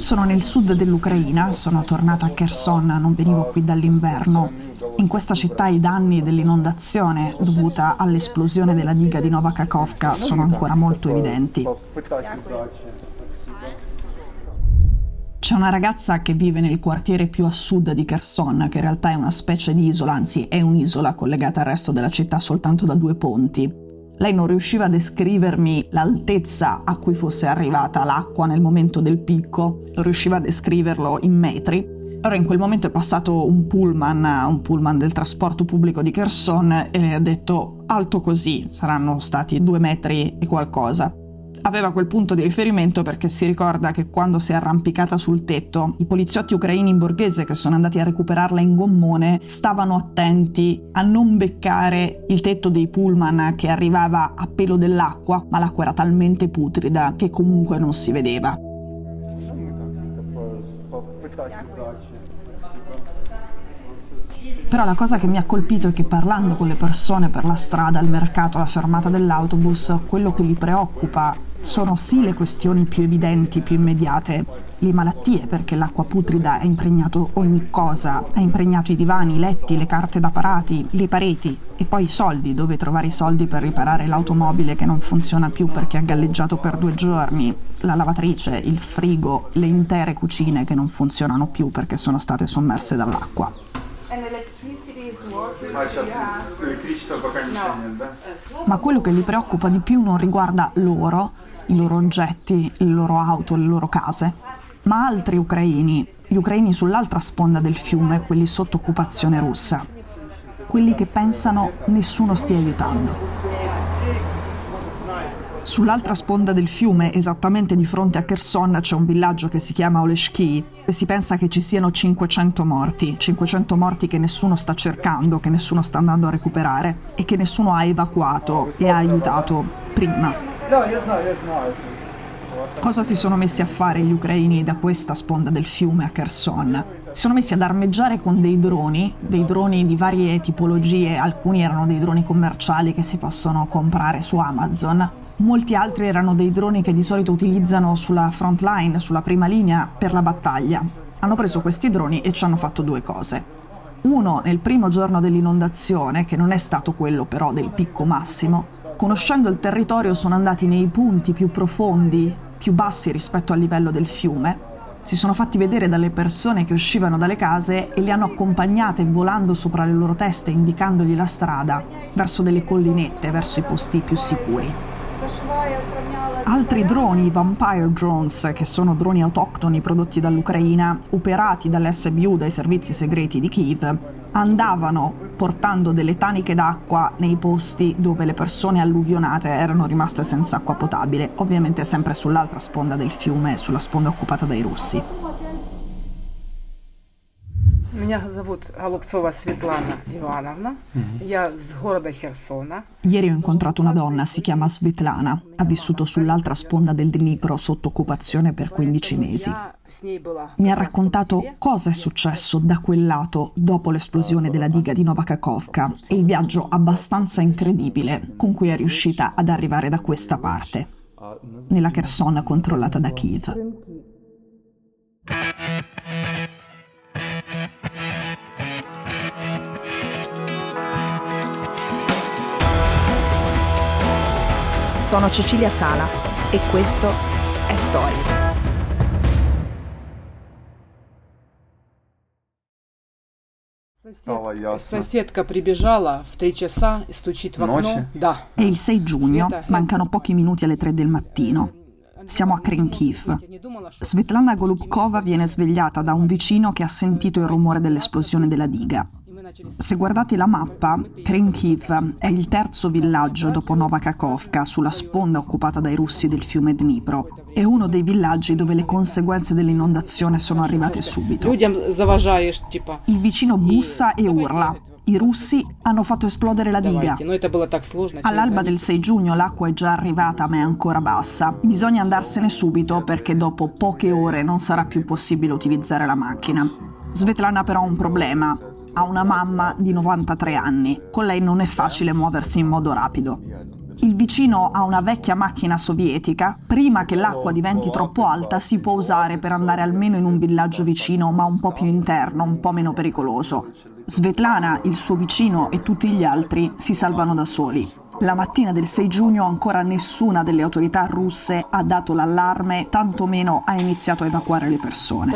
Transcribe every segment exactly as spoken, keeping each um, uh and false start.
Sono nel sud dell'Ucraina, sono tornata a Kherson, non venivo qui dall'inverno. In questa città i danni dell'inondazione dovuta all'esplosione della diga di Nova Kakhovka sono ancora molto evidenti. C'è una ragazza che vive nel quartiere più a sud di Kherson, che in realtà è una specie di isola, anzi è un'isola collegata al resto della città soltanto da due ponti. Lei non riusciva a descrivermi l'altezza a cui fosse arrivata l'acqua nel momento del picco, non riusciva a descriverlo in metri. Allora in quel momento è passato un pullman, un pullman del trasporto pubblico di Kherson, e lei ha detto alto così, saranno stati due metri e qualcosa. Aveva quel punto di riferimento perché si ricorda che quando si è arrampicata sul tetto, i poliziotti ucraini in borghese che sono andati a recuperarla in gommone stavano attenti a non beccare il tetto dei pullman che arrivava a pelo dell'acqua, ma l'acqua era talmente putrida che comunque non si vedeva. Però la cosa che mi ha colpito è che parlando con le persone per la strada, al mercato, alla fermata dell'autobus, quello che li preoccupa sono sì le questioni più evidenti, più immediate, le malattie, perché l'acqua putrida ha impregnato ogni cosa, ha impregnato i divani, i letti, le carte da parati, le pareti, e poi i soldi, dove trovare i soldi per riparare l'automobile che non funziona più perché ha galleggiato per due giorni, la lavatrice, il frigo, le intere cucine che non funzionano più perché sono state sommerse dall'acqua. Ma quello che li preoccupa di più non riguarda loro, i loro oggetti, le loro auto, le loro case, ma altri ucraini, gli ucraini sull'altra sponda del fiume, quelli sotto occupazione russa, quelli che pensano nessuno stia aiutando. Sull'altra sponda del fiume, esattamente di fronte a Kherson, c'è un villaggio che si chiama Oleshki e si pensa che ci siano cinquecento morti, cinquecento morti che nessuno sta cercando, che nessuno sta andando a recuperare e che nessuno ha evacuato e ha aiutato prima. Cosa si sono messi a fare gli ucraini da questa sponda del fiume a Kherson? Si sono messi ad armeggiare con dei droni, dei droni di varie tipologie, alcuni erano dei droni commerciali che si possono comprare su Amazon. Molti altri erano dei droni che di solito utilizzano sulla front line, sulla prima linea, per la battaglia. Hanno preso questi droni e ci hanno fatto due cose. Uno, nel primo giorno dell'inondazione, che non è stato quello però del picco massimo, conoscendo il territorio sono andati nei punti più profondi, più bassi rispetto al livello del fiume, si sono fatti vedere dalle persone che uscivano dalle case e le hanno accompagnate volando sopra le loro teste, indicandogli la strada verso delle collinette, verso i posti più sicuri. Altri droni, Vampire Drones, che sono droni autoctoni prodotti dall'Ucraina, operati dall'esse bu U, dai servizi segreti di Kiev, andavano portando delle taniche d'acqua nei posti dove le persone alluvionate erano rimaste senza acqua potabile, ovviamente sempre sull'altra sponda del fiume, sulla sponda occupata dai russi. Меня зовут Голубцова Светлана Ивановна. Я с города Херсона. Ieri ho incontrato una donna, si chiama Svetlana, ha vissuto sull'altra sponda del Dnipro sotto occupazione per quindici mesi. Mi ha raccontato cosa è successo da quel lato dopo l'esplosione della diga di Nova Kakhovka e il viaggio abbastanza incredibile con cui è riuscita ad arrivare da questa parte, nella Kherson controllata da Kiev. Sono Cecilia Sala e questo è Stories. Соседка прибежала в три часа и стучит в окно. Да. È il sei giugno, mancano pochi minuti alle tre del mattino. Siamo a Kharkiv. Svetlana Golubkova viene svegliata da un vicino che ha sentito il rumore dell'esplosione della diga. Se guardate la mappa, Kharkiv è il terzo villaggio dopo Nova Kakhovka sulla sponda occupata dai russi del fiume Dnipro. È uno dei villaggi dove le conseguenze dell'inondazione sono arrivate subito. Il vicino bussa e urla. I russi hanno fatto esplodere la diga. All'alba del sei giugno l'acqua è già arrivata ma è ancora bassa. Bisogna andarsene subito perché dopo poche ore non sarà più possibile utilizzare la macchina. Svetlana però ha un problema. Ha una mamma di novantatré anni. Con lei non è facile muoversi in modo rapido. Il vicino ha una vecchia macchina sovietica, prima che l'acqua diventi troppo alta si può usare per andare almeno in un villaggio vicino, ma un po' più interno, un po' meno pericoloso. Svetlana, il suo vicino e tutti gli altri si salvano da soli. La mattina del sei giugno ancora nessuna delle autorità russe ha dato l'allarme, tantomeno ha iniziato a evacuare le persone.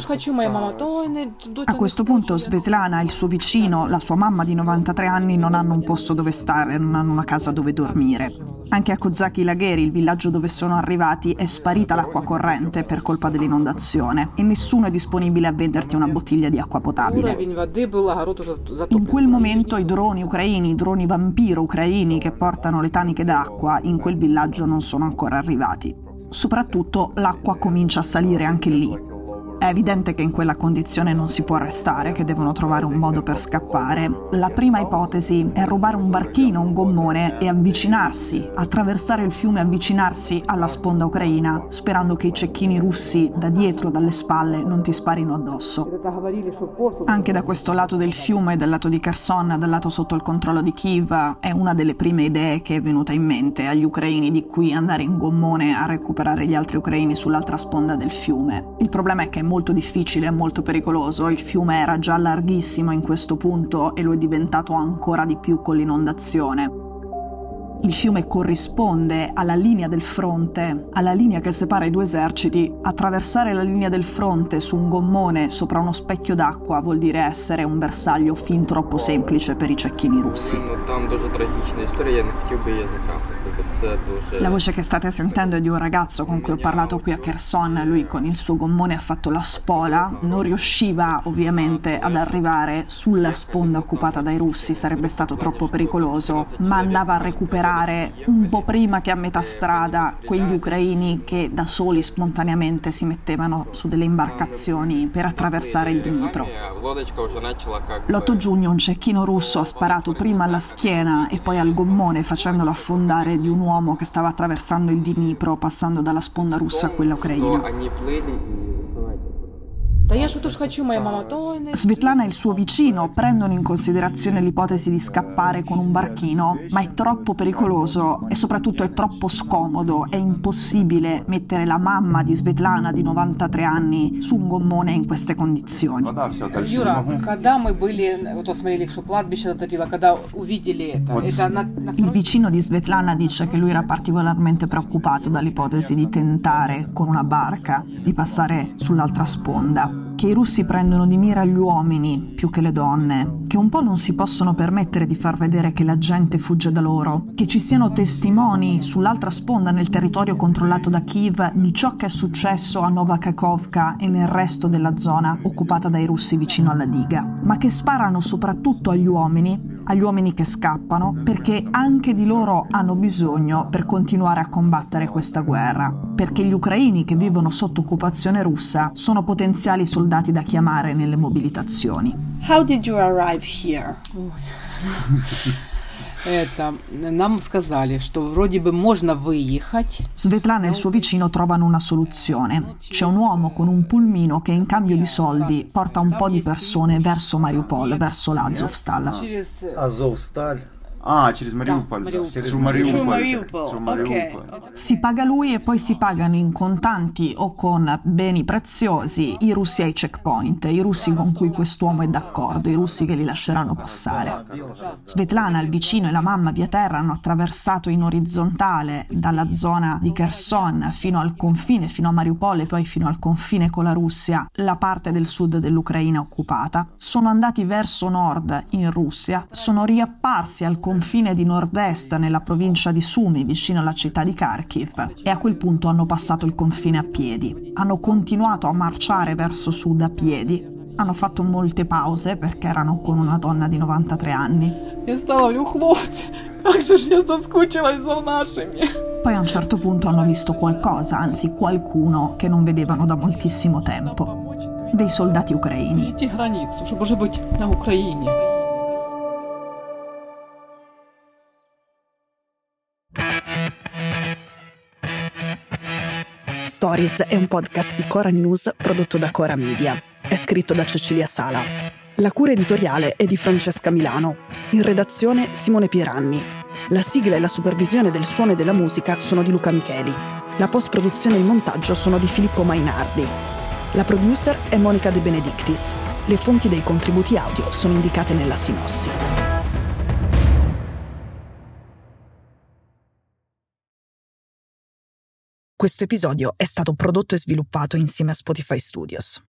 A questo punto Svetlana, il suo vicino, la sua mamma di novantatré anni non hanno un posto dove stare, non hanno una casa dove dormire. Anche a Kozaki Lagheri, il villaggio dove sono arrivati, è sparita l'acqua corrente per colpa dell'inondazione e nessuno è disponibile a venderti una bottiglia di acqua potabile. In quel momento i droni ucraini, i droni vampiro ucraini che portano le taniche d'acqua in quel villaggio non sono ancora arrivati. Soprattutto l'acqua comincia a salire anche lì. È evidente che in quella condizione non si può restare, che devono trovare un modo per scappare. La prima ipotesi è rubare un barchino, un gommone e avvicinarsi, attraversare il fiume e avvicinarsi alla sponda ucraina, sperando che i cecchini russi da dietro, dalle spalle, non ti sparino addosso. Anche da questo lato del fiume, dal lato di Kherson, dal lato sotto il controllo di Kiev, è una delle prime idee che è venuta in mente agli ucraini di qui andare in gommone a recuperare gli altri ucraini sull'altra sponda del fiume. Il problema è che è molto difficile e molto pericoloso, il fiume era già larghissimo in questo punto e lo è diventato ancora di più con l'inondazione. Il fiume corrisponde alla linea del fronte, alla linea che separa i due eserciti. Attraversare la linea del fronte su un gommone sopra uno specchio d'acqua vuol dire essere un bersaglio fin troppo semplice per i cecchini russi. La voce che state sentendo è di un ragazzo con cui ho parlato qui a Kherson. Lui con il suo gommone ha fatto la spola, non riusciva ovviamente ad arrivare sulla sponda occupata dai russi, sarebbe stato troppo pericoloso, ma andava a recuperare un po' prima che a metà strada quegli ucraini che da soli spontaneamente si mettevano su delle imbarcazioni per attraversare il Dnipro. L'otto giugno un cecchino russo ha sparato prima alla schiena e poi al gommone facendolo affondare di un uomo che stava attraversando il Dnipro passando dalla sponda russa a quella ucraina. Svetlana e il suo vicino prendono in considerazione l'ipotesi di scappare con un barchino, ma è troppo pericoloso e soprattutto è troppo scomodo, è impossibile mettere la mamma di Svetlana di novantatré anni su un gommone in queste condizioni. Il vicino di Svetlana dice che lui era particolarmente preoccupato dall'ipotesi di tentare con una barca di passare sull'altra sponda, che i russi prendono di mira gli uomini più che le donne, che un po' non si possono permettere di far vedere che la gente fugge da loro, che ci siano testimoni sull'altra sponda nel territorio controllato da Kiev di ciò che è successo a Nova Kakhovka e nel resto della zona occupata dai russi vicino alla diga, ma che sparano soprattutto agli uomini, agli uomini che scappano, perché anche di loro hanno bisogno per continuare a combattere questa guerra, perché gli ucraini che vivono sotto occupazione russa sono potenziali soldati da chiamare nelle mobilitazioni. How did you arrive here? Это, нам сказали, что вроде бы можно выехать. Svetlana e il suo vicino trovano una soluzione. C'è un uomo con un pulmino che in cambio di soldi porta un po' di persone verso Mariupol, verso l'Azovstal. Azovstal. Ah, через Мариуполь. Да, Мариуполь. Через Мариуполь. Мариуполь. Через Мариуполь. Okay. Si paga lui e poi si pagano in contanti o con beni preziosi i russi ai checkpoint, i russi con cui quest'uomo è d'accordo, i russi che li lasceranno passare. Svetlana, il vicino e la mamma via terra hanno attraversato in orizzontale dalla zona di Kherson fino al confine, fino a Mariupol e poi fino al confine con la Russia, la parte del sud dell'Ucraina occupata. Sono andati verso nord in Russia, sono riapparsi al confine di nord-est nella provincia di Sumy, vicino alla città di Kharkiv, e a quel punto hanno passato il confine a piedi. Hanno continuato a marciare verso sud a piedi, hanno fatto molte pause perché erano con una donna di novantatré anni. Poi a un certo punto hanno visto qualcosa, anzi qualcuno che non vedevano da moltissimo tempo. Dei soldati ucraini. Stories è un podcast di Cora News prodotto da Cora Media. È scritto da Cecilia Sala. La cura editoriale è di Francesca Milano. In redazione Simone Pieranni. La sigla e la supervisione del suono e della musica sono di Luca Micheli. La post-produzione e il montaggio sono di Filippo Mainardi. La producer è Monica De Benedictis. Le fonti dei contributi audio sono indicate nella sinossi. Questo episodio è stato prodotto e sviluppato insieme a Spotify Studios.